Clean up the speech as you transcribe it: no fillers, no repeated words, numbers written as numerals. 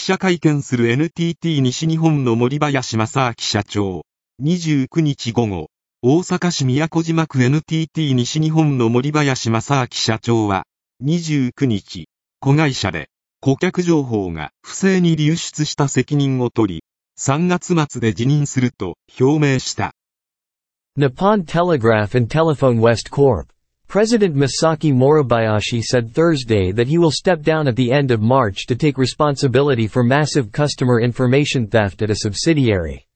者会見する NTT 西日本の森林正明社長。29日午後、大阪市都島区 NTT 西日本の森林正明社長は、29日、子会社で、顧客情報が不正に流出した責任を取り、3月末で辞任すると表明した。 Nippon Telegraph and Telephone West Corp. President Masaki Moribayashi said Thursday that he will step down at the end of March to take responsibility for massive customer information theft at a subsidiary.